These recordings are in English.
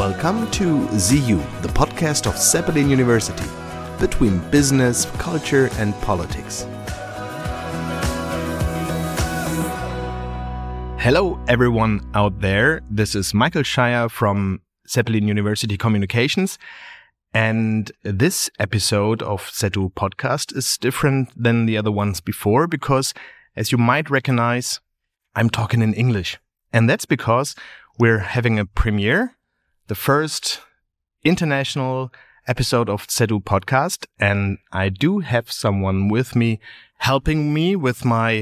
Welcome to ZU, the podcast of Zeppelin University, between business, culture and politics. Hello everyone out there, this is Michael Scheier from Zeppelin University Communications, and this episode of ZU podcast is different than the other ones before because, as you might recognize, I'm talking in English. And that's because we're having a premiere, the first international episode of ZU podcast, and I do have someone with me helping me with my,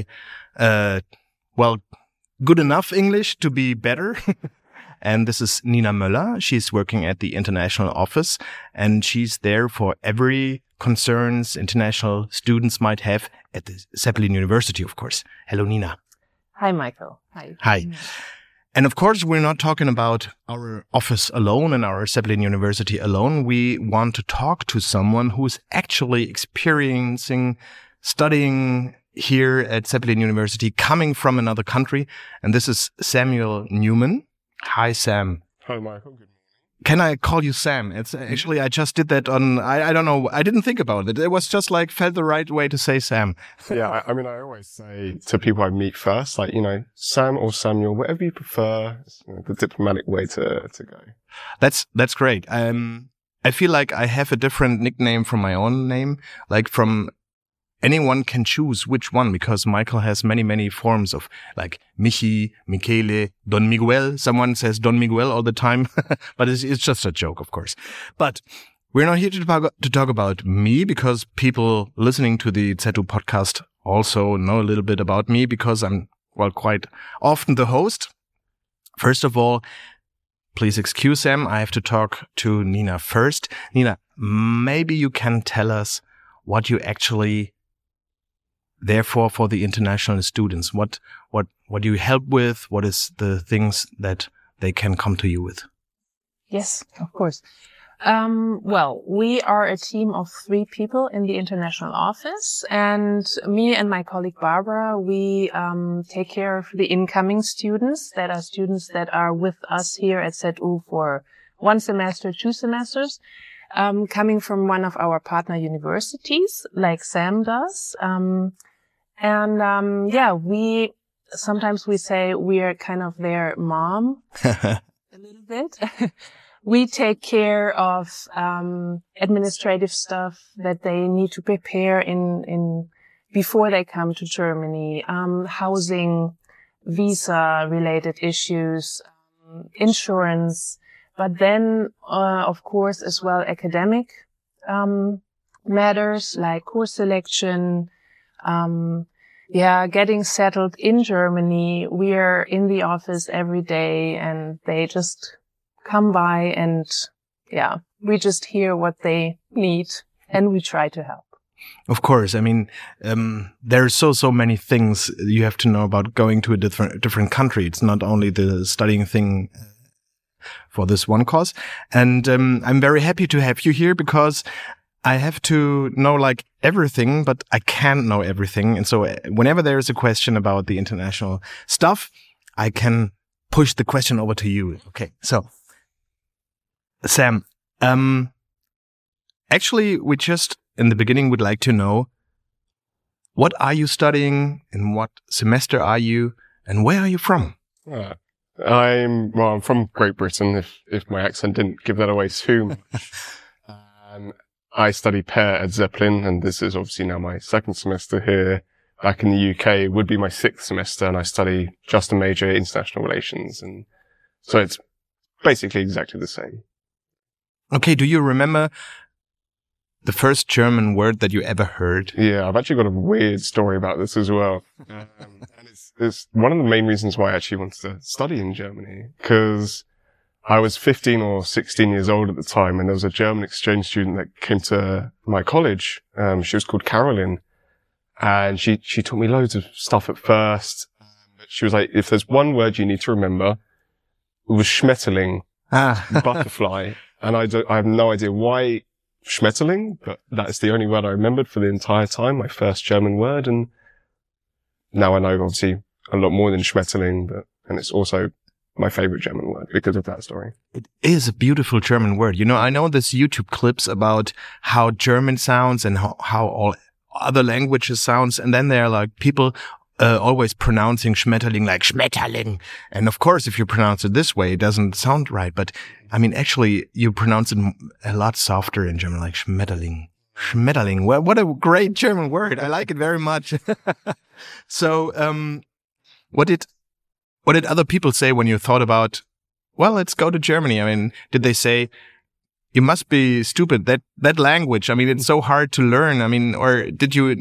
good enough English to be better. And this is Nina Möller. She's working at the international office, and she's there for every concerns international students might have at the Zeppelin University, of course. Hello, Nina. Hi, Michael. Hi. Hi. And of course, we're not talking about our office alone and our Zeppelin University alone. We want to talk to someone who's actually experiencing studying here at Zeppelin University, coming from another country. And this is Samuel Newman. Hi, Sam. Hi, Michael. Good morning. Can I call you Sam? It's actually, I just did that on, I don't know, I didn't think about it. It was just like, felt the right way to say Sam. Yeah, I mean, I always say to people I meet first, like, Sam or Samuel, whatever you prefer, the diplomatic way to go. That's great. I feel like I have a different nickname from my own name, like from anyone can choose which one, because Michael has many forms of like Michi, Michele, Don Miguel. Someone says Don Miguel all the time, but it's just a joke, of course. But we're not here to talk about me, because people listening to the ZU podcast also know a little bit about me, because I'm, quite often the host. First of all, please excuse Sam. I have to talk to Nina first. Nina, maybe you can tell us what you actually therefore for the international students, what do you help with? What is the things that they can come to you with? Yes, of course. We are a team of 3 people in the international office, and me and my colleague Barbara, we take care of the incoming students that are with us here at ZU for 1 semester, 2 semesters, coming from one of our partner universities, like Sam does. We sometimes we say we are kind of their mom a little bit. We take care of administrative stuff that they need to prepare in before they come to Germany, housing, visa related issues, insurance, but then of course as well academic matters like course selection. Getting settled in Germany. We are in the office every day, and they just come by, and we just hear what they need, and we try to help. Of course. I mean, there's so many things you have to know about going to a different country. It's not only the studying thing for this one course. And I'm very happy to have you here, because I have to know like everything, but I can't know everything. And so whenever there is a question about the international stuff, I can push the question over to you. Okay. So Sam, actually we just in the beginning would like to know, what are you studying? In what semester are you? And where are you from? I'm from Great Britain, if my accent didn't give that away too much. I study pair at Zeppelin, and this is obviously now my 2nd semester here. Back in the UK would be my 6th semester, and I study just a major international relations, and so it's basically exactly the same. Okay, do you remember the first German word that you ever heard? Yeah, I've actually got a weird story about this as well. And it's one of the main reasons why I actually wanted to study in Germany, because I was 15 or 16 years old at the time, and there was a German exchange student that came to my college. She was called Caroline, and she taught me loads of stuff at first. She was like, if there's one word you need to remember, it was Schmetterling, butterfly. And I have no idea why Schmetterling, but that's the only word I remembered for the entire time, my first German word. And now I know obviously a lot more than Schmetterling, and it's also my favorite German word because of that story. It is a beautiful German word. You know, I know this YouTube clips about how German sounds and how all other languages sounds. And then there are like people always pronouncing Schmetterling like Schmetterling. And of course, if you pronounce it this way, it doesn't sound right. But I mean, actually, you pronounce it a lot softer in German, like Schmetterling. Schmetterling. Well, what a great German word. I like it very much. So, what did other people say when you thought about, well, let's go to Germany? I mean, did they say, you must be stupid, that language? I mean, it's so hard to learn. I mean, or did it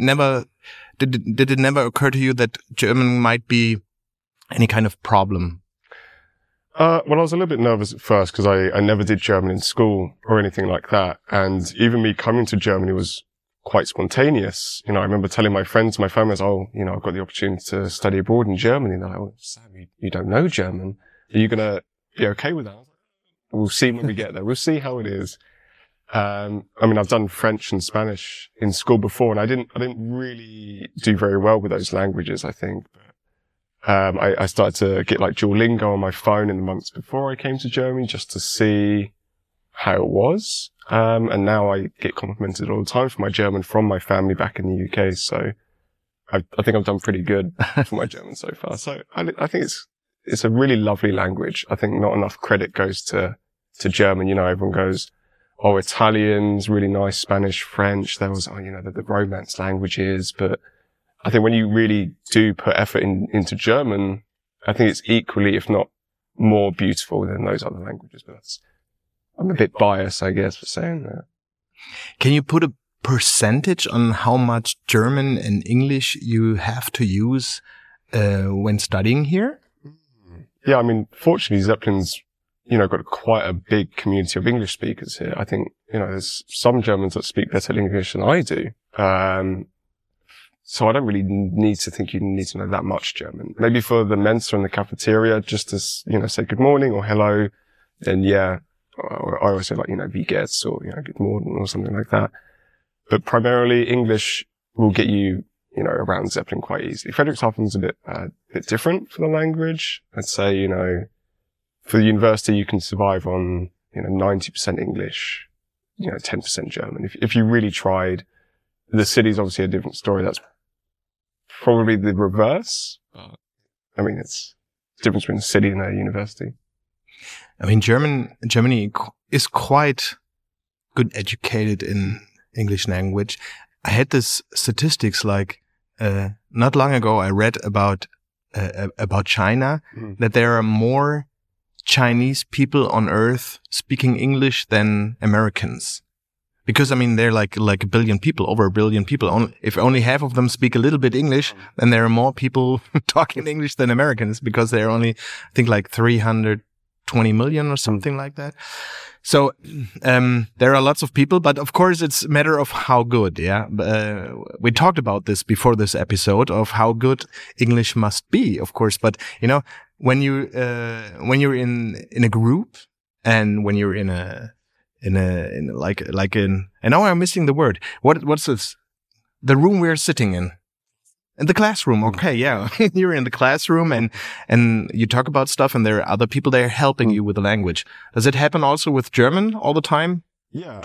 never occur to you that German might be any kind of problem? Well, I was a little bit nervous at first because I never did German in school or anything like that. And even me coming to Germany was quite spontaneous. You know, I remember telling my friends, my family, oh, you know, I've got the opportunity to study abroad in Germany. And they're like, oh, Sam, you don't know German. Are you going to be okay with that? We'll see when we get there. We'll see how it is. I mean, I've done French and Spanish in school before, and I didn't really do very well with those languages, I think. I started to get like Duolingo on my phone in the months before I came to Germany just to see how it was. And now I get complimented all the time for my German from my family back in the UK. So I think I've done pretty good for my German so far. So I think it's a really lovely language. I think not enough credit goes to German. You know, everyone goes, oh, Italian's really nice, Spanish, French. There was, you know, the Romance languages. But I think when you really do put effort into German, I think it's equally, if not more beautiful than those other languages. But I'm a bit biased, I guess, for saying that. Can you put a percentage on how much German and English you have to use when studying here? Yeah, I mean, fortunately, Zeppelin's, you know, got quite a big community of English speakers here. I think, you know, there's some Germans that speak better English than I do. So I don't really need to think you need to know that much German. Maybe for the Mensa and the cafeteria, just to, you know, say good morning or hello. Then yeah, I always say like, you know, wie geht's or, you know, good morning or something like that. But primarily English will get you, you know, around Zeppelin quite easily. Frederickshafen's a bit different for the language. I'd say, you know, for the university, you can survive on, you know, 90% English, you know, 10% German. If you really tried, the city's obviously a different story. That's probably the reverse. I mean, it's the difference between a city and a university. I mean, Germany is quite good educated in English language. I had this statistics like, not long ago, I read about China, that there are more Chinese people on earth speaking English than Americans. Because, I mean, they're like a billion people, over a billion people. If only half of them speak a little bit English, then there are more people talking English than Americans because they're only, I think, like 320 million or something like that. So, there are lots of people, but of course it's a matter of how good, yeah. We talked about this before this episode of how good English must be, of course. But, you know, when you're in a group and when you're in and now I'm missing the word. What's this? The room we're sitting in. In the classroom. Okay. Yeah. You're in the classroom and you talk about stuff and there are other people there helping you with the language. Does it happen also with German all the time? Yeah.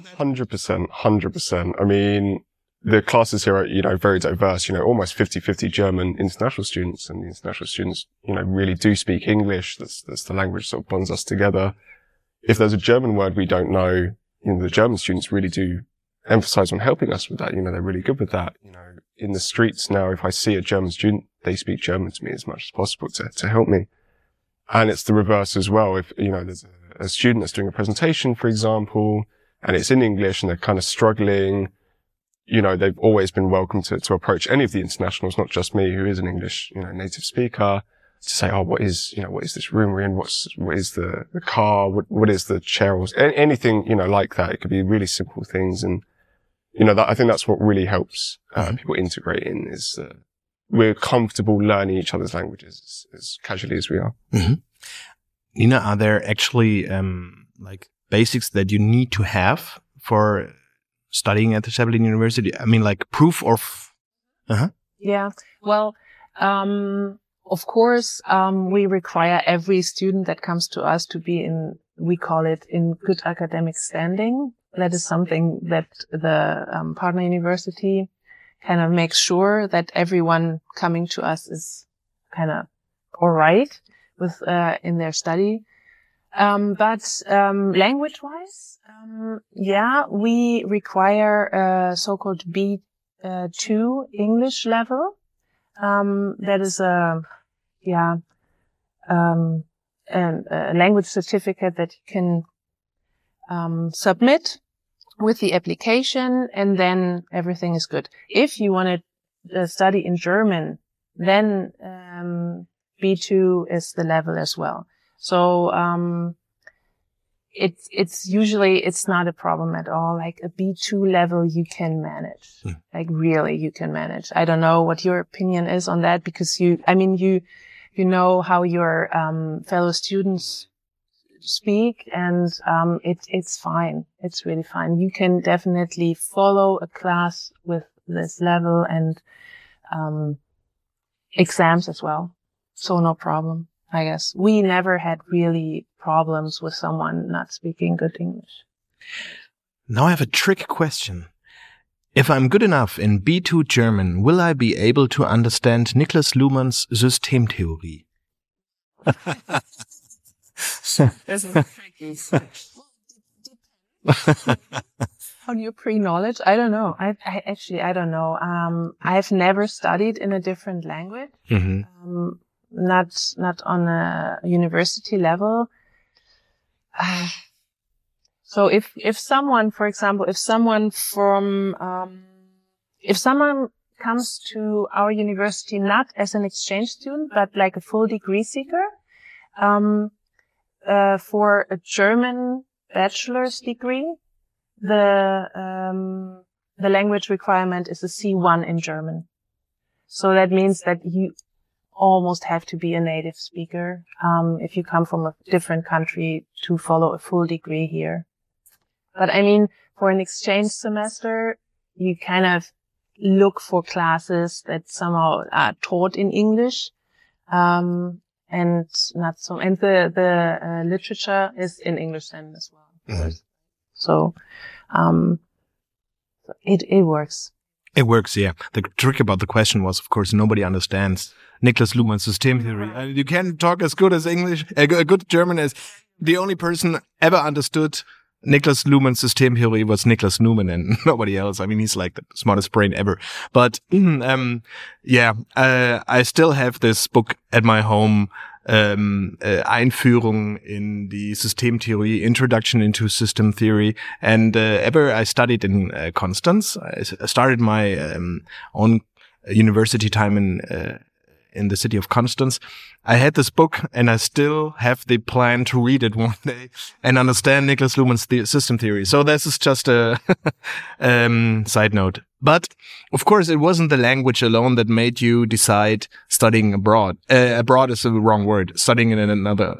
100%. I mean, the classes here are, you know, very diverse, you know, almost 50-50 German international students, and the international students, you know, really do speak English. That's the language that sort of bonds us together. If there's a German word we don't know, you know, the German students really do emphasize on helping us with that. You know, they're really good with that. You know, in the streets now, if I see a German student, they speak German to me as much as possible to help me. And it's the reverse as well. If, you know, there's a student that's doing a presentation, for example, and it's in English and they're kind of struggling, you know, they've always been welcome to approach any of the internationals, not just me, who is an English, you know, native speaker, to say, oh, what is this room we're in? What is the car? What is the chair? Or anything, you know, like that. It could be really simple things. And, you know, I think that's what really helps, people integrate in is, we're comfortable learning each other's languages as casually as we are. Mm-hmm. Nina, are there actually, like basics that you need to have for studying at the Zeppelin University? I mean, like proof of, Yeah. Well, of course, we require every student that comes to us to be we call it in good academic standing. That is something that the partner university kind of makes sure that everyone coming to us is kind of all right with in their study. But language-wise, we require a so-called B2 English level. That is a language certificate that you can submit with the application, and then everything is good. If you want to study in German, then B2 is the level as well. So it's not a problem at all. Like a B2 level you can manage. Like really you can manage. I don't know what your opinion is on that, because you know how your fellow students speak, and it's fine. It's really fine. You can definitely follow a class with this level, and exams as well. So no problem, I guess. We never had really problems with someone not speaking good English. Now I have a trick question. If I'm good enough in B2 German, will I be able to understand Niklas Luhmann's Systemtheorie? This is tricky. On your pre-knowledge, I don't know. I don't know. I've never studied in a different language. Mm-hmm. Not on a university level. So if someone, for example, if someone comes to our university not as an exchange student, but like a full degree seeker, for a German bachelor's degree, the language requirement is a C1 in German. So that means that you almost have to be a native speaker, if you come from a different country to follow a full degree here. But I mean, for an exchange semester, you kind of look for classes that somehow are taught in English, and not so, and the literature is in English then as well. Mm-hmm. So, it works. It works, yeah. The trick about the question was, of course, nobody understands Niklas Luhmann's Systemtheorie. Right. You can't talk as good as English, a good German as the only person ever understood Niklas Luhmann's Systemtheorie was Niklas Luhmann and nobody else. I mean, he's like the smartest brain ever. But, I still have this book at my home, Einführung in die Systemtheorie, Introduction into System Theory. And ever I studied in Konstanz. I started my own university time in the city of Konstanz. I had this book, and I still have the plan to read it one day and understand Niklas Luhmann's system theory. So this is just a side note. But of course, it wasn't the language alone that made you decide studying abroad. Abroad is the wrong word. Studying in another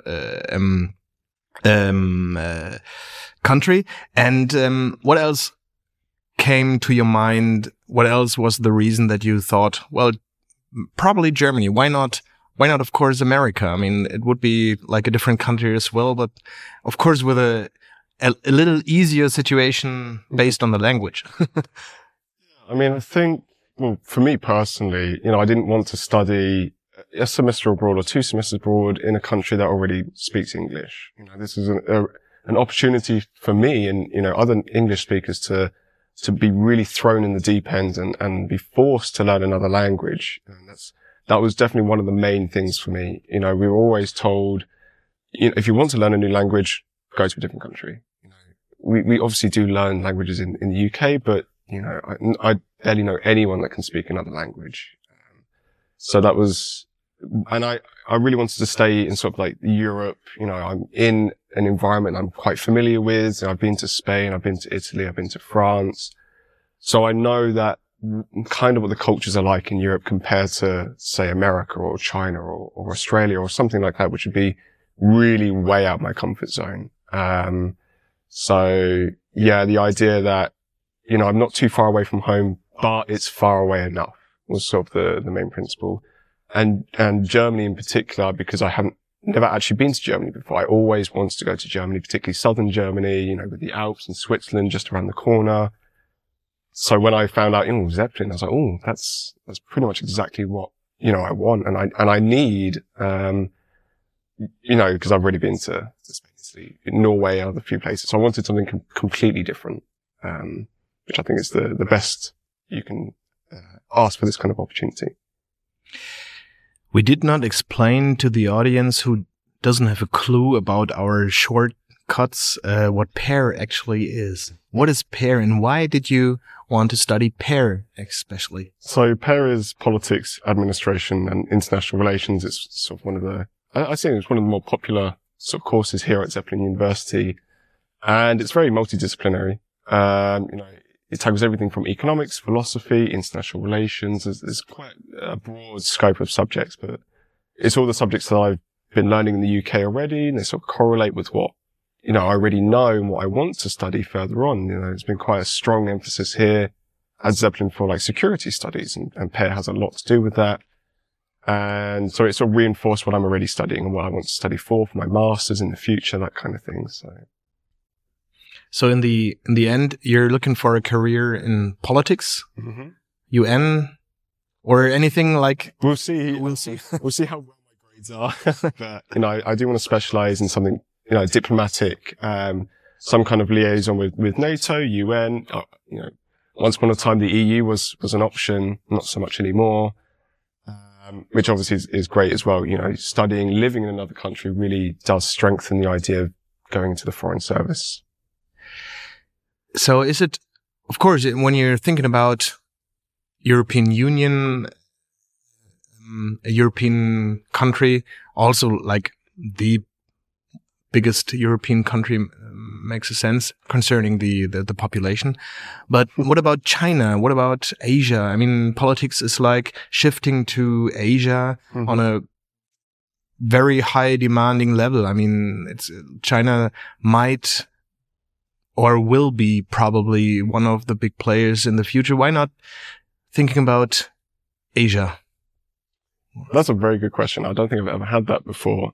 country. And what else came to your mind? What else was the reason that you thought, well, probably Germany? Why not, of course, America? I mean, it would be like a different country as well, but of course with a little easier situation based on the language. I mean, I think, well, for me personally, I didn't want to study a semester abroad or 2 semesters abroad in a country that already speaks English. This is an opportunity for me and, other English speakers to be really thrown in the deep end and be forced to learn another language. And that was definitely one of the main things for me. We were always told, if you want to learn a new language, go to a different country. We obviously do learn languages in the UK, but, I barely know anyone that can speak another language. So that was, and I really wanted to stay in sort of like Europe. I'm in an environment I'm quite familiar with. I've been to Spain, I've been to Italy, I've been to France. So I know that kind of what the cultures are like in Europe compared to, say, America or China or Australia or something like that, which would be really way out my comfort zone. So yeah, the idea that, I'm not too far away from home, but it's far away enough was sort of the main principle. and Germany in particular, because I hadn't never actually been to Germany before. I always wanted to go to Germany, particularly southern Germany, you know, with the Alps and Switzerland just around the corner. So when I found out, Zeppelin, I was like, oh, that's pretty much exactly what, you know, I want. And I need, you know, because I've already been to Spain, Norway, other few places. So I wanted something completely different, which I think is the best you can ask for this kind of opportunity. We did not explain to the audience who doesn't have a clue about our shortcuts what PAIR actually is. What is PAIR, and why did you want to study PAIR especially? So PAIR is politics, administration, and international relations. It's sort of one of the, I think it's one of the more popular sort of courses here at Zeppelin University, and it's very multidisciplinary. You know, it tackles everything from economics, philosophy, international relations. There's quite a broad scope of subjects, but it's all the subjects that I've been learning in the UK already, and they sort of correlate with what, you know, I already know and what I want to study further on. You know, there's been quite a strong emphasis here at Zeppelin for like security studies, and PAIR has a lot to do with that. And so it sort of reinforced what I'm already studying and what I want to study for my masters in the future, that kind of thing. So in the end, you're looking for a career in politics, UN, or anything like? We'll see. We'll see. We'll see how well my grades are. But, you know, I do want to specialize in something, you know, diplomatic, some kind of liaison with NATO, UN. You know, once upon a time, the EU was an option, not so much anymore. Which obviously is great as well. You know, studying, living in another country really does strengthen the idea of going into the foreign service. So is it, of course, when you're thinking about European Union, a European country, also like the biggest European country makes a sense concerning the population. But what about China? What about Asia? I mean, politics is like shifting to Asia on a very high demanding level. I mean, China might or will be probably one of the big players in the future. Why not thinking about Asia? That's a very good question. I don't think I've ever had that before.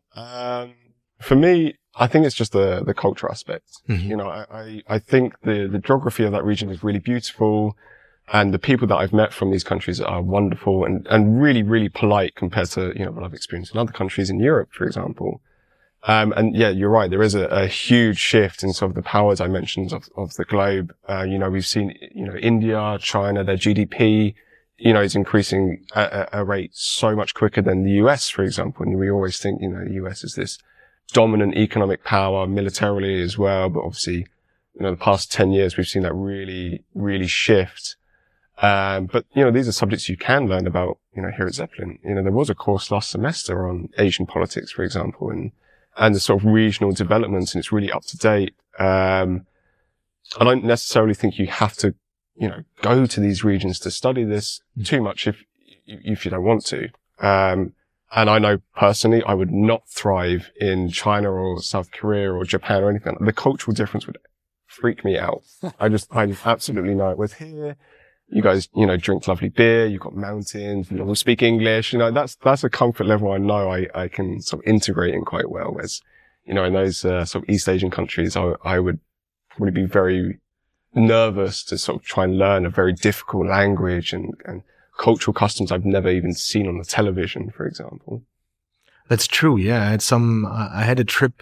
For me, I think it's just the culture aspect. You know, I think the geography of that region is really beautiful, and the people that I've met from these countries are wonderful and really, really polite compared to, you know, what I've experienced in other countries in Europe, for example. And yeah, you're right. There is a huge shift in sort of the power dimensions of the globe. You know, we've seen, you know, India, China, their GDP, you know, is increasing at a rate so much quicker than the US, for example. And we always think, you know, the US is this dominant economic power militarily as well. But obviously, you know, the past 10 years, we've seen that really, really shift. But, you know, these are subjects you can learn about, you know, here at Zeppelin. You know, there was a course last semester on Asian politics, for example, and the sort of regional developments, and it's really up to date. I don't necessarily think you have to, you know, go to these regions to study this too much if you don't want to. And I know personally I would not thrive in China or South Korea or Japan or anything. The cultural difference would freak me out. I absolutely know it. With here, you guys, you know, drink lovely beer, you've got mountains, you all speak English, you know, that's a comfort level I know I can sort of integrate in quite well. Whereas, you know, in those sort of East Asian countries, I would probably be very nervous to sort of try and learn a very difficult language and cultural customs I've never even seen on the television, for example. That's true. Yeah. I had a trip,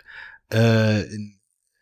in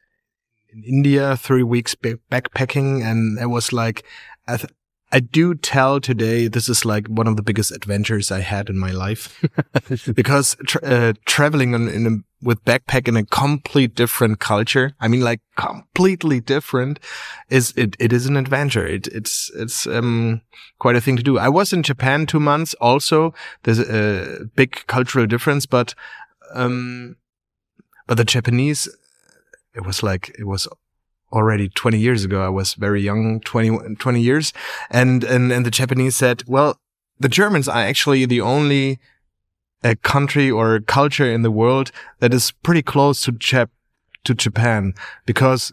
India, 3 weeks backpacking, and it was like, I do tell today this is like one of the biggest adventures I had in my life because traveling with backpack in a complete different culture. I mean, like completely different it is an adventure. It's quite a thing to do. I was in Japan 2 months also. There's a big cultural difference, but the Japanese, it was already 20 years ago. I was very young, 20 years. And the Japanese said, well, the Germans are actually the only country or culture in the world that is pretty close to Japan because,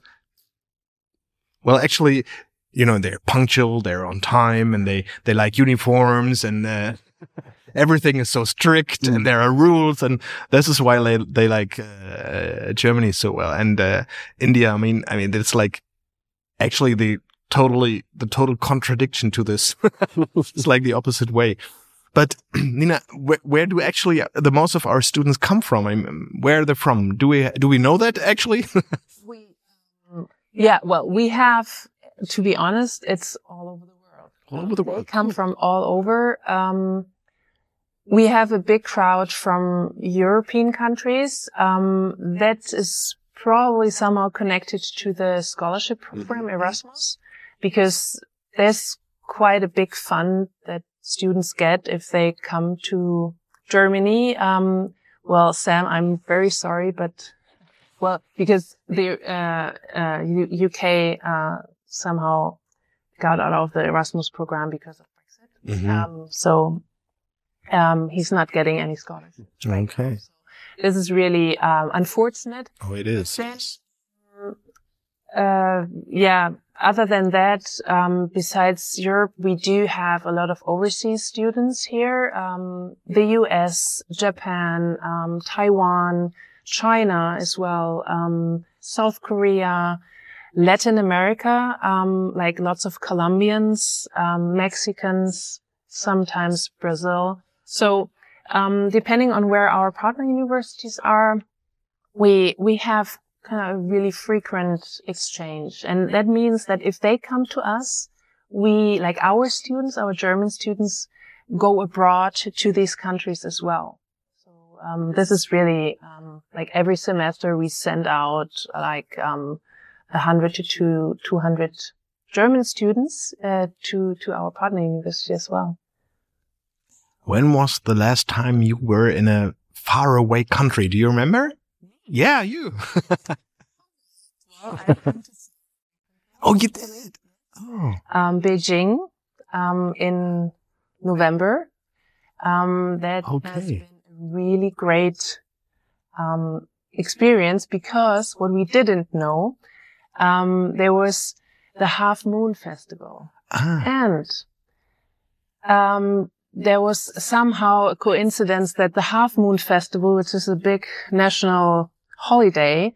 well, actually, you know, they're punctual, they're on time, and they like uniforms, and everything is so strict and there are rules, and this is why they like Germany so well. And India, I mean, it's like actually the total contradiction to this. It's like the opposite way. But Nina, where do actually the most of our students come from? I mean, where are they from? Do we know that actually? Yeah, well, we have, to be honest, it's all over the world. All over the world. They come from all over. We have a big crowd from European countries. That is probably somehow connected to the scholarship program Erasmus, because there's quite a big fund that students get if they come to Germany. Well, Sam, I'm very sorry, but because the UK somehow got out of the Erasmus program because of Brexit. So he's not getting any scholarships. Okay. So this is really unfortunate. Oh, it is. Then, yeah. Other than that, besides Europe, we do have a lot of overseas students here. The US, Japan, Taiwan, China as well, South Korea, Latin America, like lots of Colombians, Mexicans, sometimes Brazil. So, depending on where our partner universities are, we have kind of really frequent exchange. And that means that if they come to us, we, like our students, our German students, go abroad to these countries as well. So, this is really, like every semester we send out like, 100 to 200 German students, to our partner university as well. When was the last time you were in a faraway country? Do you remember? Yeah, you. Oh, you did it. Oh. Beijing, in November. That has been a really great, experience, because what we didn't know, there was the Half Moon Festival. And, there was somehow a coincidence that the Half Moon Festival, which is a big national holiday,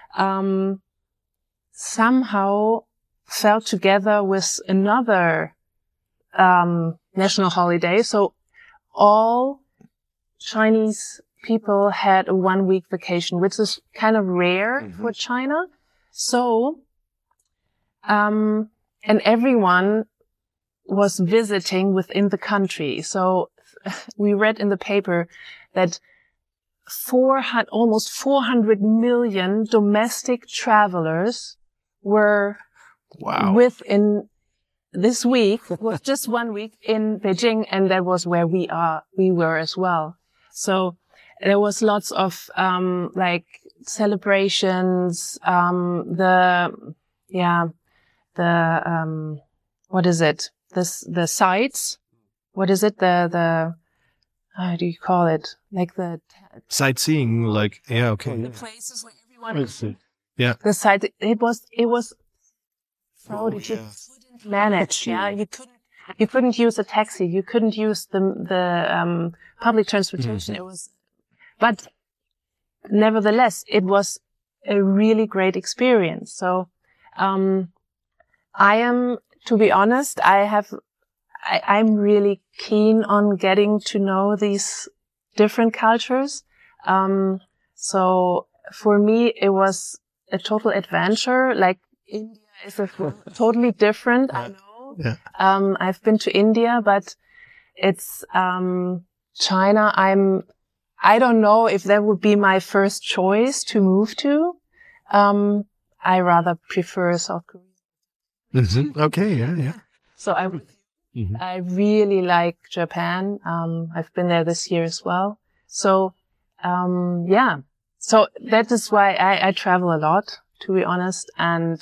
somehow fell together with another national holiday. So all Chinese people had a 1-week vacation, which is kind of rare for China. So, and everyone was visiting within the country. So we read in the paper that almost 400 million domestic travelers were within this week, was just 1 week in Beijing, and that was where we were as well. So there was lots of like celebrations, what is it? The sites. What is it? The how do you call it? Like the sightseeing, like, yeah, okay. The places where everyone. Yeah. The site. It was crowded. You couldn't manage. Yeah. You couldn't use a taxi. You couldn't use the public transportation. It was, but nevertheless, it was a really great experience. So, to be honest, I'm really keen on getting to know these different cultures. So for me, it was a total adventure. Like India is totally different. I know. Yeah. I've been to India, but it's, China. I don't know if that would be my first choice to move to. I rather prefer South Korea. Okay. Yeah. So I really like Japan. I've been there this year as well. So, yeah. So that is why I travel a lot, to be honest. And,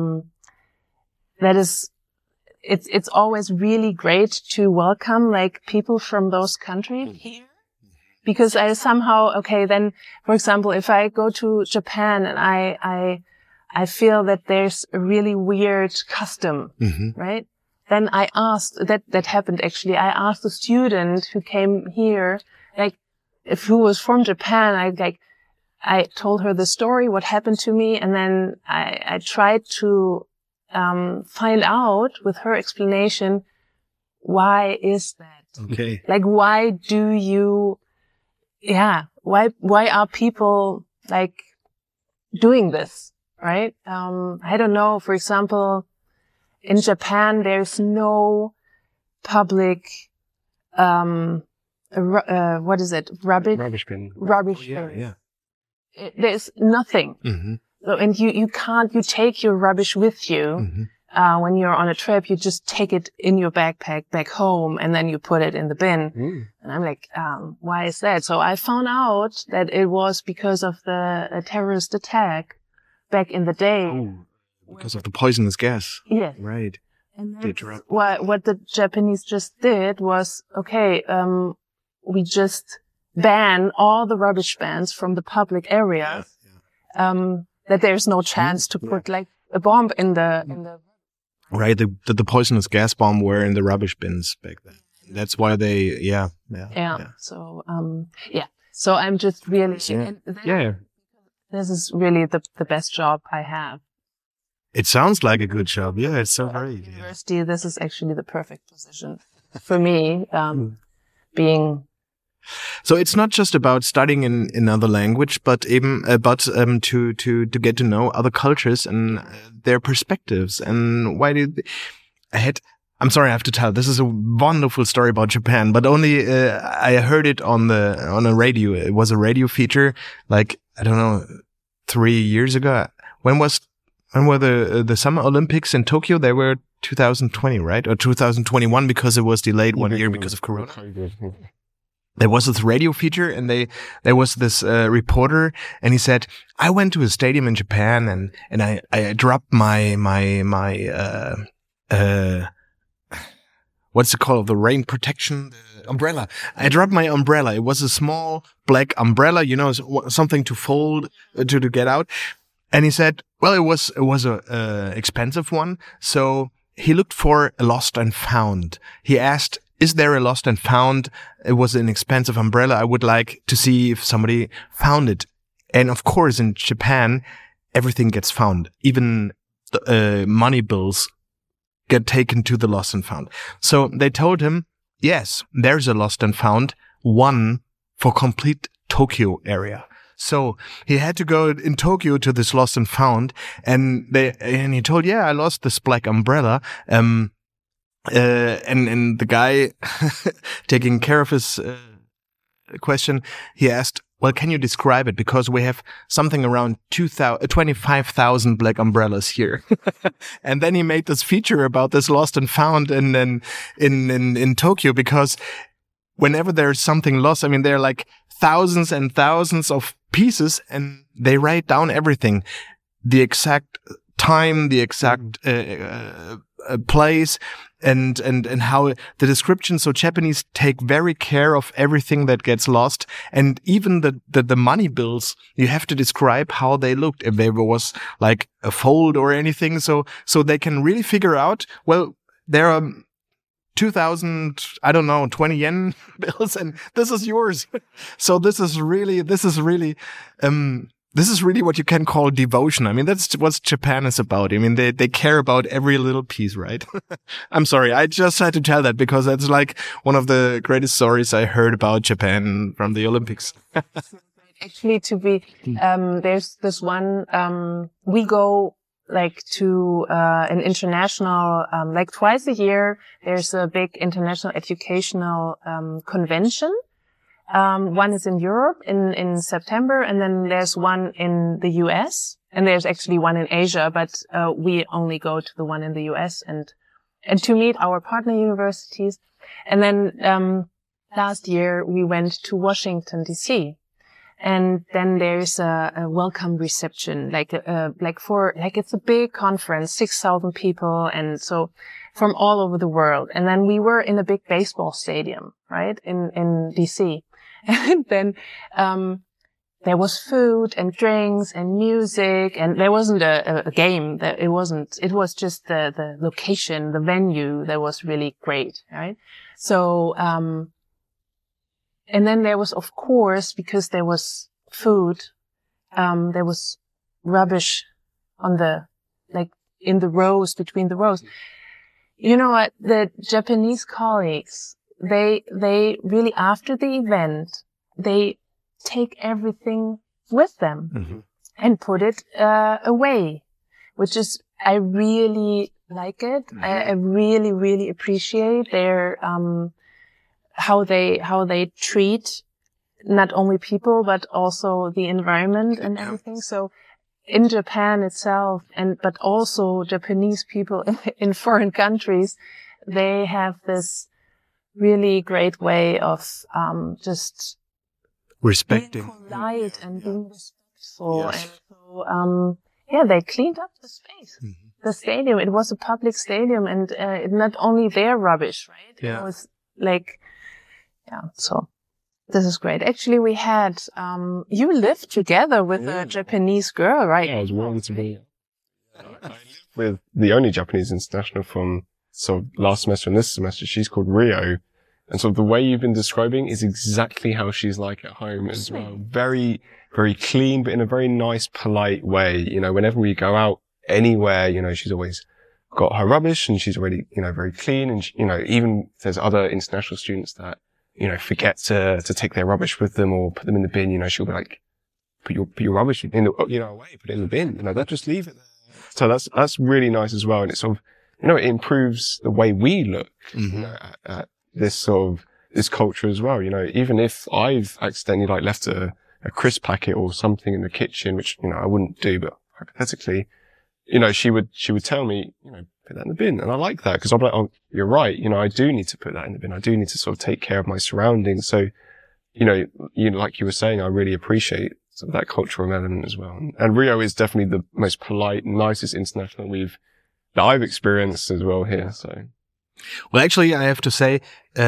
it's always really great to welcome like people from those countries here. Because I somehow, then, for example, if I go to Japan and I feel that there's a really weird custom, right? then I asked, that happened actually. I asked a student who came here, like, who was from Japan. I told her the story, what happened to me. And then I tried to, find out with her explanation, why is that? Okay. Like, why do you, why are people like doing this? Right? I don't know. For example, in Japan, there's no public, what is it? Rubbish bin. Rubbish Yeah, bin. yeah. There's nothing. Mm-hmm. So, and you take your rubbish with you. Mm-hmm. When you're on a trip, you just take it in your backpack back home and then you put it in the bin. Mm. And I'm like, why is that? So I found out that it was because of the terrorist attack back in the day. Oh, because of the poisonous gas. Yes. Right. And They that's dropped- what the Japanese just did was, okay, we just ban all the rubbish bans from the public area. That there's no chance to put like a bomb in the. Right. The poisonous gas bomb were in the rubbish bins back then. That's why they, yeah. So, So I'm just really, Yeah. this is really the best job I have. It sounds like a good job. Yeah, it's so great. Yeah. University, this is actually the perfect position for me, being. So it's not just about studying in another language, but even to get to know other cultures and their perspectives. And why did I'm sorry, I have to tell. This is a wonderful story about Japan, but only I heard it on a radio. It was a radio feature, like I don't know, 3 years ago. When were the Summer Olympics in Tokyo? They were 2020, right, or 2021 because it was delayed 1 year because of Corona. There was this radio feature and there was this reporter and he said, I went to a stadium in Japan and I dropped my what's it called? The rain protection, the umbrella. I dropped my umbrella. It was a small black umbrella, something to fold to get out. And he said, well, it was a expensive one. So he looked for a lost and found. He asked, is there a lost and found? It was an expensive umbrella. I would like to see if somebody found it. And of course, in Japan, everything gets found. Even money bills get taken to the lost and found. So they told him, yes, there's a lost and found, one for complete Tokyo area. So he had to go in Tokyo to this lost and found, and he told, yeah, I lost this black umbrella. And the guy taking care of his question, he asked, well, can you describe it? Because we have something around 25,000 black umbrellas here. And then he made this feature about this lost and found and then in Tokyo, because whenever there's something lost, I mean, there are like thousands and thousands of pieces and they write down everything, the exact time, the exact place, and how the description. So Japanese take very care of everything that gets lost, and even the money bills, you have to describe how they looked, if there was like a fold or anything, so they can really figure out, well, there are 2,000, I don't know, 20 yen bills, and this is yours. So this is really what you can call devotion. I mean, that's what Japan is about. I mean, they care about every little piece, right? I'm sorry. I just had to tell that because that's like one of the greatest stories I heard about Japan from the Olympics. Actually, there's this one, we go like to, an international, like twice a year, there's a big international educational, convention. One is in Europe in September, and then there's one in the US, and there's actually one in Asia, but we only go to the one in the US and to meet our partner universities. And then last year we went to Washington DC, and then there's a welcome reception, it's a big conference, 6,000 people, and so from all over the world. And then we were in a big baseball stadium, right, in DC. And then, there was food and drinks and music, and there wasn't a game. It was just the location, the venue that was really great, right? So, and then there was, of course, because there was food, there was rubbish in the rows, between the rows. You know what? The Japanese colleagues, they really, after the event, they take everything with them and put it away, which is, I really like it. I really, really appreciate their how they treat not only people but also the environment and everything. So in Japan itself, but also Japanese people in foreign countries, they have this really great way of just respecting, being polite and being respectful. Yes. And so, they cleaned up the space. The stadium, it was a public stadium, and not only their rubbish, right? Yeah. It was so this is great. Actually, we had, you lived together with a Japanese girl, right? Yeah, I was willing to be. I lived with the only Japanese international from sort of last semester and this semester. She's called Rio. And sort of the way you've been describing is exactly how she's like at home as well. Very, very clean, but in a very nice, polite way. You know, whenever we go out anywhere, you know, she's always got her rubbish and she's already, you know, very clean. And, you know, even if there's other international students that, you know, forget to take their rubbish with them or put them in the bin, you know, she'll be like, put your rubbish in the, you know, away, put it in the bin. You know, don't just leave it there. So that's really nice as well. And it's sort of, you know, it improves the way we look, you know, at this sort of, this culture as well. You know, even if I've accidentally like left a crisp packet or something in the kitchen, which, you know, I wouldn't do, but hypothetically, you know, she would tell me, you know, put that in the bin. And I like that because I'm like, oh, you're right. You know, I do need to put that in the bin. I do need to sort of take care of my surroundings. So, you know, like you were saying, I really appreciate sort of that cultural element as well. And Rio is definitely the most polite, nicest international that I've experienced as well here. So. Well, actually, I have to say,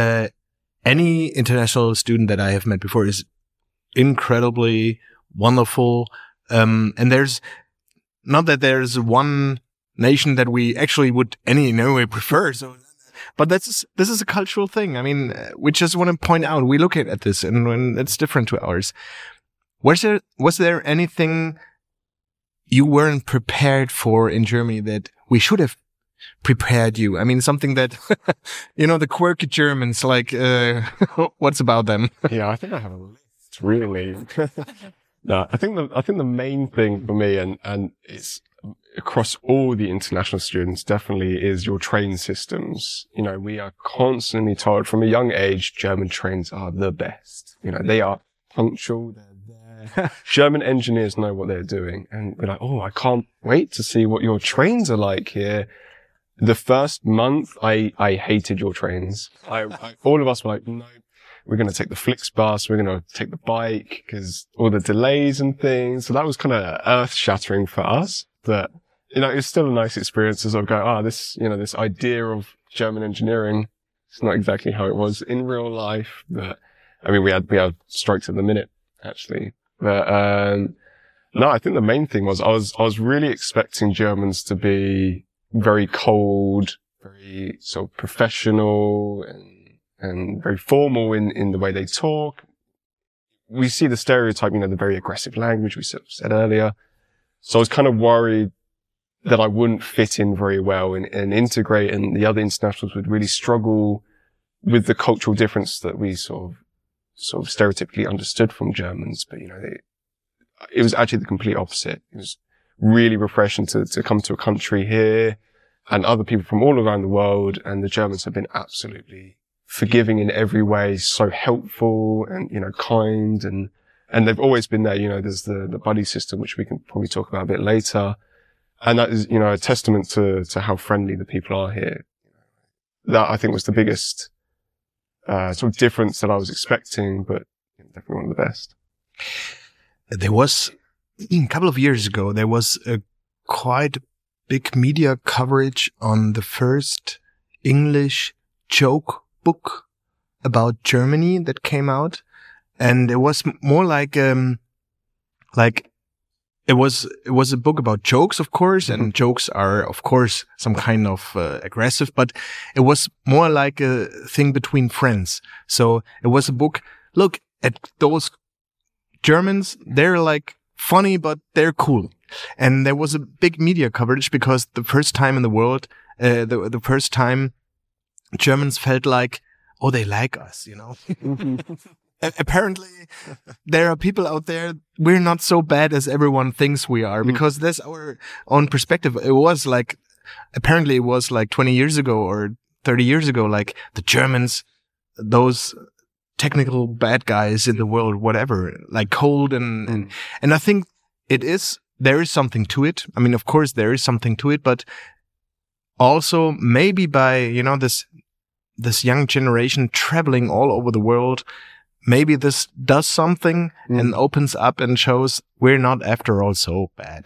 any international student that I have met before is incredibly wonderful. And there's not that there's one nation that we actually would in no way prefer. So, but this is a cultural thing. I mean, we just want to point out, we look at this and it's different to ours. Was there anything you weren't prepared for in Germany that we should have prepared you? I mean, something that, you know, the quirky Germans, like, what's about them? Yeah, I think I have a list, really. No, I think the main thing for me, and it's across all the international students, definitely is your train systems. You know, we are constantly told from a young age, German trains are the best. You know, they are punctual, they're there. German engineers know what they're doing. And we're like, oh, I can't wait to see what your trains are like here. The first month, I hated your trains. All of us were like, no, we're going to take the Flixbus. We're going to take the bike because all the delays and things. So that was kind of earth shattering for us. But, you know, it was still a nice experience as I go, this idea of German engineering, it's not exactly how it was in real life. But I mean, we had strikes at the minute, actually. But, no, I think the main thing was I was really expecting Germans to be very cold, very sort of professional and very formal in the way they talk. We see the stereotype, you know, the very aggressive language we sort of said earlier. So I was kind of worried that I wouldn't fit in very well and integrate, and the other internationals would really struggle with the cultural difference that we sort of stereotypically understood from Germans. But, you know, it was actually the complete opposite. It was really refreshing to come to a country here and other people from all around the world. And the Germans have been absolutely forgiving in every way, so helpful and, you know, kind. And they've always been there. You know, there's the buddy system, which we can probably talk about a bit later. And that is, you know, a testament to how friendly the people are here. That I think was the biggest, sort of difference that I was expecting, but definitely one of the best. There was, a couple of years ago, there was a quite big media coverage on the first English joke book about Germany that came out. And it was more like, like, it was a book about jokes, of course, and jokes are, of course, some kind of aggressive, but it was more like a thing between friends. So it was a book, look at those Germans, they're like funny, but they're cool. And there was a big media coverage because the first time in the world, the first time Germans felt like, oh, they like us, you know. Apparently, there are people out there, we're not so bad as everyone thinks we are, because that's our own perspective. It was like, apparently it was like 20 years ago or 30 years ago, like the Germans, those technical bad guys in the world, whatever, like cold and I think there is something to it. I mean, of course, there is something to it, but also maybe by, you know, this young generation traveling all over the world, maybe this does something and opens up and shows we're not after all so bad.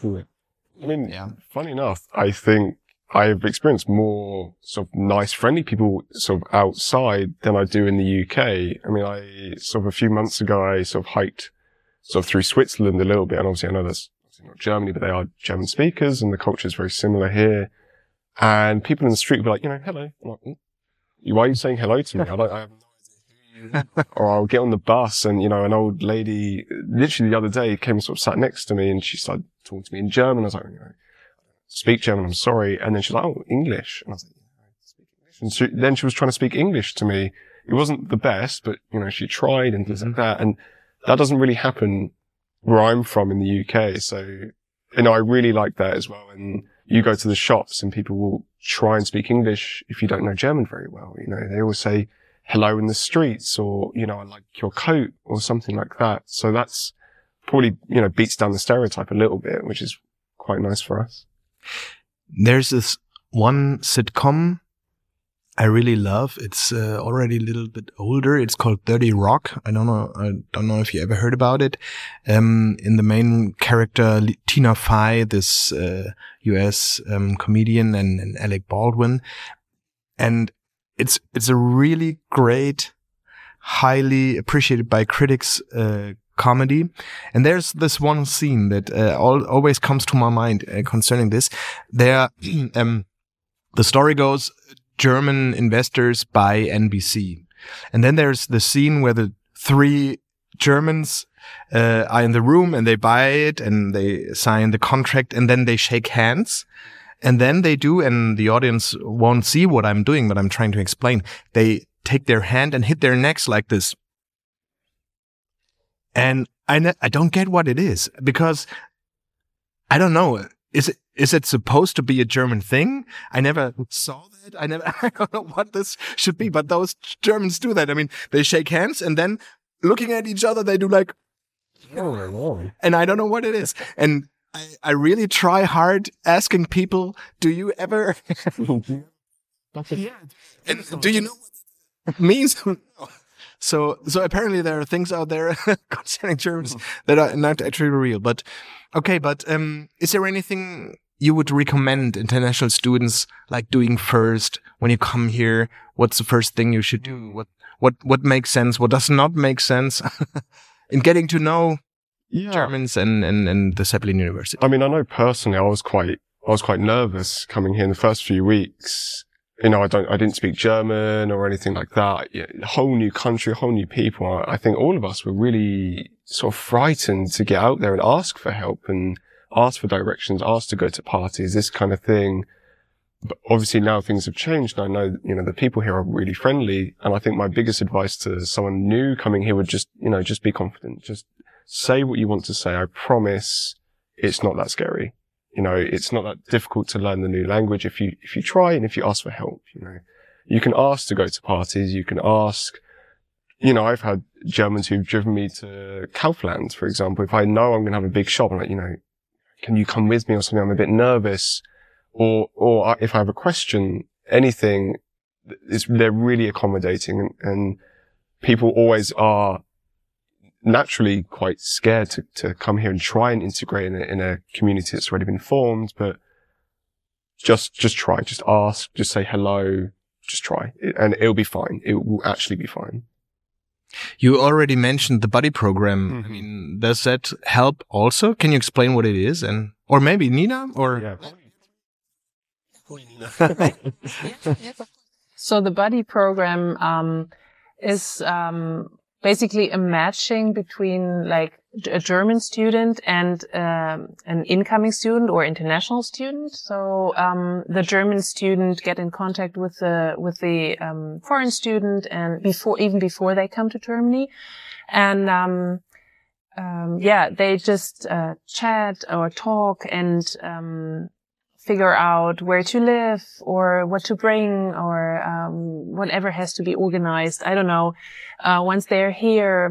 I mean, funny enough, I think I've experienced more sort of nice, friendly people sort of outside than I do in the UK. I mean, a few months ago, I sort of hiked sort of through Switzerland a little bit. And obviously I know that's not Germany, but they are German speakers and the culture is very similar here. And people in the street will be like, you know, hello. I'm like, why are you saying hello to me? I have no idea who you are. Or I'll get on the bus and, you know, an old lady, literally the other day, came and sort of sat next to me and she started talking to me in German. I was like, you know, speak German, I'm sorry. And then she's like, oh, English. And I was like, yeah, I speak English. And then she was trying to speak English to me. It wasn't the best, but, you know, she tried and things like that. And that doesn't really happen where I'm from in the UK. So, you know, I really like that as well. And you go to the shops and people will try and speak English if you don't know German very well. You know, they always say hello in the streets or, you know, I like your coat or something like that. So that's probably, you know, beats down the stereotype a little bit, which is quite nice for us. There's this one sitcom I really love. It's already a little bit older. It's called 30 Rock. I don't know if you ever heard about it. In the main character, Tina Fey, this US comedian, and Alec Baldwin. And it's a really great, highly appreciated by critics comedy. And there's this one scene that always comes to my mind concerning this. There, the story goes, German investors buy NBC. And then there's the scene where the three Germans are in the room and they buy it and they sign the contract and then they shake hands. And then they do, and the audience won't see what I'm doing, but I'm trying to explain. They take their hand and hit their necks like this. And I don't get what it is, because I don't know. Is it supposed to be a German thing? I never saw that. I don't know what this should be, but those Germans do that. I mean, they shake hands and then looking at each other, they do like, and I don't know what it is. And I really try hard asking people, do you ever, and do you know what it means? So apparently there are things out there concerning Germans that are not actually real. But okay, is there anything you would recommend international students like doing first when you come here? What's the first thing you should do? What makes sense? What does not make sense in getting to know Germans and the Zeppelin University? I mean, I know personally, I was quite nervous coming here in the first few weeks. You know, I didn't speak German or anything like that. A whole new country, whole new people. I think all of us were really sort of frightened to get out there and ask for help and ask for directions, ask to go to parties, this kind of thing. But obviously now things have changed. And I know, you know, the people here are really friendly. And I think my biggest advice to someone new coming here would just be confident. Just say what you want to say. I promise it's not that scary. You know, it's not that difficult to learn the new language if you try and if you ask for help. You know, you can ask to go to parties. You can ask, you know, I've had Germans who've driven me to Kaufland, for example. If I know I'm going to have a big shop, I'm like, you know, can you come with me or something? I'm a bit nervous. Or if I have a question, anything, they're really accommodating, and people always are naturally quite scared to come here and try and integrate in a community that's already been formed. But just try, just ask, just say hello, just try, and it'll be fine. It will actually be fine. You already mentioned the buddy program. I mean, does that help also? Can you explain what it is? Or maybe Nina or? Yeah. So the buddy program is basically a matching between like a German student and an incoming student or international student. So the German student get in contact with the foreign student and before they come to Germany, and they just chat or talk and figure out where to live or what to bring or whatever has to be organized. I don't know. Once they're here,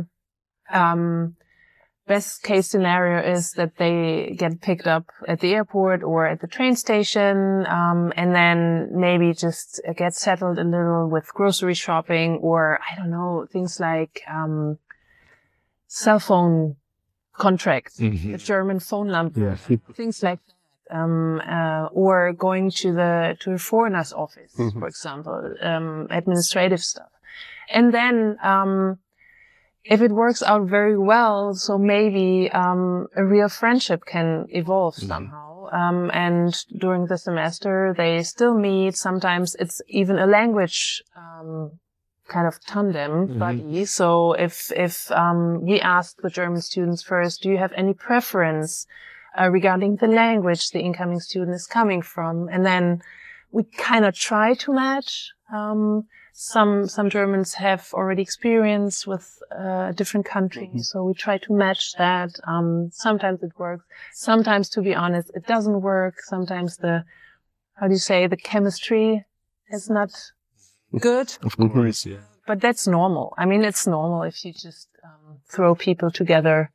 best case scenario is that they get picked up at the airport or at the train station, and then maybe just get settled a little with grocery shopping or, I don't know, things like cell phone contracts, the German phone number, things like that. Or going to a foreigner's office, for example, administrative stuff. And then, if it works out very well, so maybe, a real friendship can evolve somehow. And during the semester, they still meet. Sometimes it's even a language, kind of tandem buddy. So if we ask the German students first, do you have any preference regarding the language the incoming student is coming from? And then we kind of try to match. Some Germans have already experience with different countries, so we try to match that. Sometimes it works. Sometimes, to be honest, it doesn't work. Sometimes the chemistry is not good. Of course, yeah. But that's normal. I mean, it's normal if you just throw people together.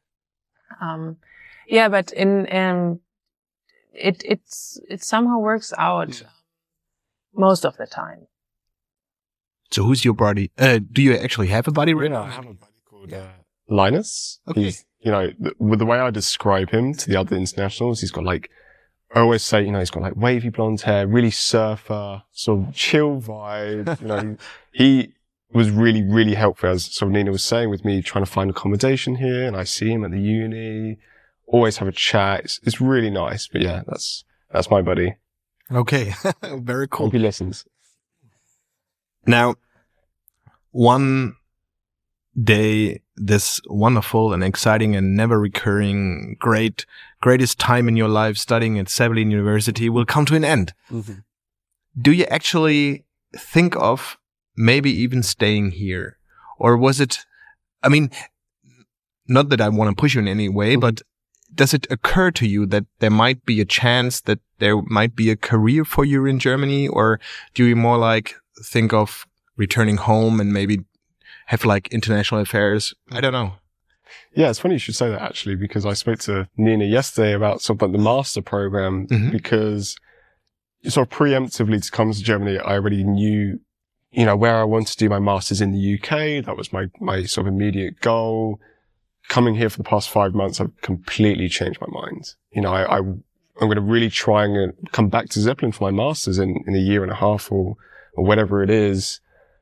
But it somehow works out most of the time. So who's your buddy? Do you actually have a buddy right now? I have a buddy called Linus. Okay. He's, with the way I describe him to the other internationals, he's got like, I always say, he's got like wavy blonde hair, really surfer, sort of chill vibe. He was really, really helpful, as sort of Nina was saying, with me trying to find accommodation here, and I see him at the uni. Always have a chat. It's really nice. But yeah, that's my buddy. Okay. Very cool. Hope he listens. Now, one day, this wonderful and exciting and never recurring greatest time in your life studying at Säbelinge University will come to an end. Do you actually think of maybe even staying here? Or was it, I mean, not that I want to push you in any way, but does it occur to you that there might be a chance that there might be a career for you in Germany? Or do you more like think of returning home and maybe have like international affairs? I don't know. Yeah, it's funny you should say that actually, because I spoke to Nina yesterday about sort of like the master program, because sort of preemptively to come to Germany, I already knew, where I wanted to do my master's in the UK. That was my sort of immediate goal. Coming here for the past 5 months, I've completely changed my mind. I'm going to really try and come back to Zeppelin for my master's in a year and a half or whatever it is.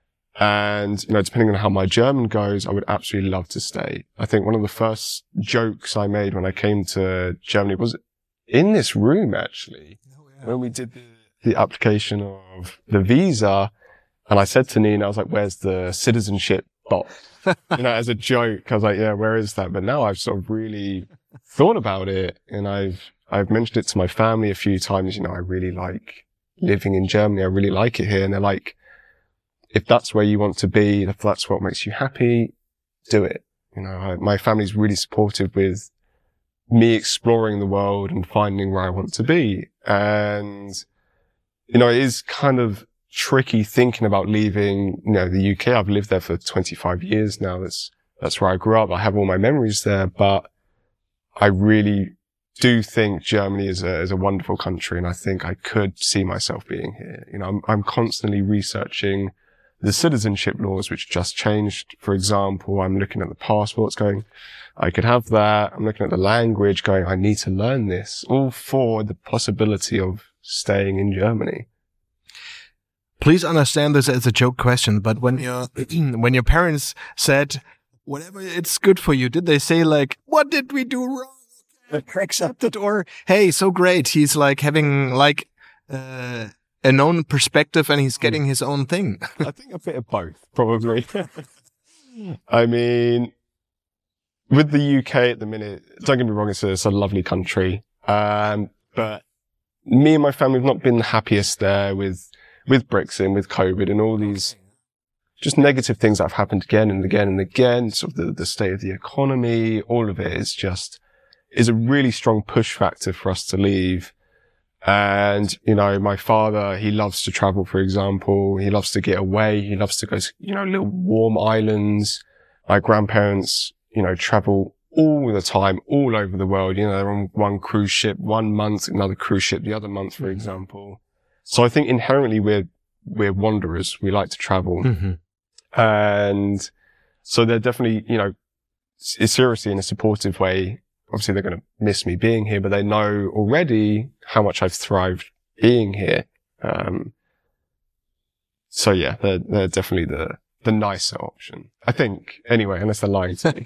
And, depending on how my German goes, I would absolutely love to stay. I think one of the first jokes I made when I came to Germany was in this room, actually, when we did the application of the visa. And I said to Nina, I was like, where's the citizenship box? As a joke. I was like, yeah, where is that? But now I've sort of really thought about it, and I've mentioned it to my family a few times. I really like living in Germany. I really like it here. And they're like, if that's where you want to be, if that's what makes you happy, do it. My family's really supportive with me exploring the world and finding where I want to be. And, it is kind of tricky thinking about leaving, the UK. I've lived there for 25 years now. That's where I grew up. I have all my memories there, but I really do think Germany is a wonderful country, and I think I could see myself being here. I'm constantly researching the citizenship laws, which just changed. For example, I'm looking at the passports going, I could have that. I'm looking at the language going, I need to learn this, all for the possibility of staying in Germany. please understand this as a joke question, but when your parents said, whatever it's good for you, did they say like, what did we do wrong? Accepted, or, hey, so great. He's like having like, a known perspective and he's getting his own thing. I think a bit of both, probably. I mean, with the UK at the minute, don't get me wrong, it's a lovely country. But me and my family have not been the happiest there with Brexit, with COVID and all these just negative things that have happened again and again and again. Sort of the state of the economy, all of it is a really strong push factor for us to leave. And, my father, he loves to travel, for example. He loves to get away. He loves to go to, little warm islands. My grandparents, travel all the time, all over the world. They're on one cruise ship 1 month, another cruise ship the other month, for example. So I think inherently we're wanderers. We like to travel. Mm-hmm. And so they're definitely, seriously in a supportive way. Obviously, they're going to miss me being here, but they know already how much I've thrived being here. So yeah, they're definitely the nicer option, I think. Anyway, unless they're lying to me.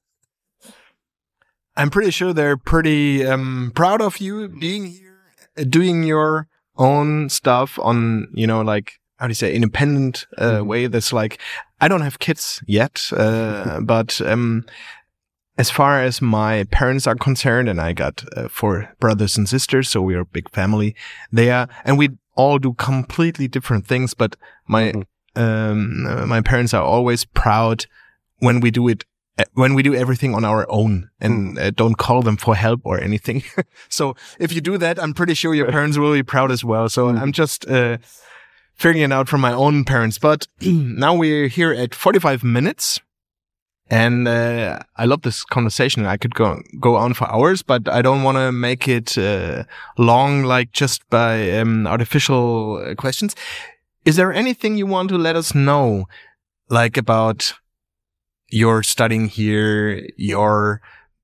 I'm pretty sure they're pretty proud of you being here, doing your own stuff on, like, how do you say, independent way. That's like, I don't have kids yet, but as far as my parents are concerned, and I got 4 brothers and sisters, so we're a big family there, and we all do completely different things. But my parents are always proud when we do everything on our own and don't call them for help or anything. So if you do that, I'm pretty sure your parents will be proud as well. So I'm just figuring it out from my own parents. But now we're here at 45 minutes. And I love this conversation. I could go on for hours, but I don't want to make it long, like just by artificial questions. Is there anything you want to let us know, like about your studying here, your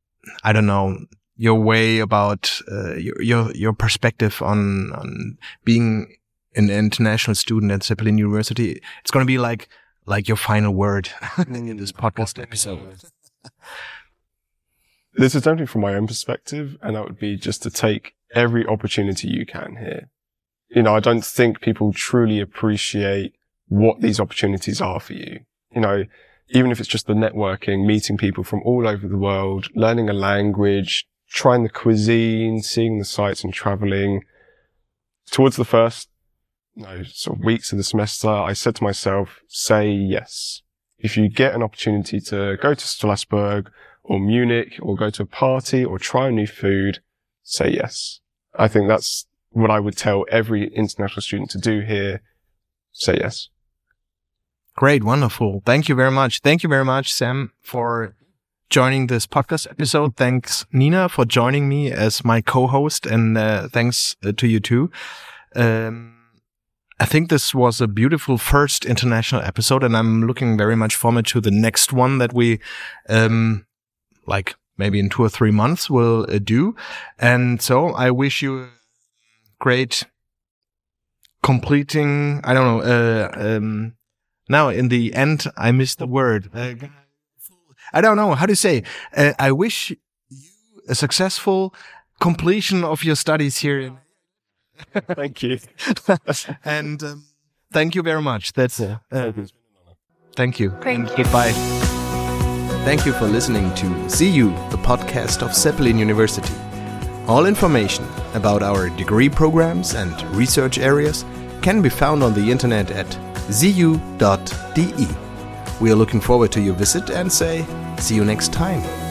way about your perspective on being an international student at Zeppelin University? It's going to be like your final word in this podcast episode. This is definitely from my own perspective, and that would be just to take every opportunity you can here. I don't think people truly appreciate what these opportunities are for you. Even if it's just the networking, meeting people from all over the world, learning a language, trying the cuisine, seeing the sights and traveling. Towards the first sort of weeks of the semester, I said to myself, say yes. If you get an opportunity to go to Strasbourg or Munich or go to a party or try new food, say yes. I think that's what I would tell every international student to do here. Say yes. Great. Wonderful. Thank you very much. Thank you very much, Sam, for joining this podcast episode. Thanks, Nina, for joining me as my co-host, and thanks to you too. I think this was a beautiful first international episode, and I'm looking very much forward to the next one that we, like maybe in 2 or 3 months will do. And so I wish you a great completing, now in the end, I missed the word. I don't know how to say. I wish you a successful completion of your studies here. Thank you. And thank you very much. That's thank you. Thank you. Goodbye. Thank you for listening to ZU, the podcast of Zeppelin University. All information about our degree programs and research areas can be found on the internet at zu.de. We are looking forward to your visit and say see you next time.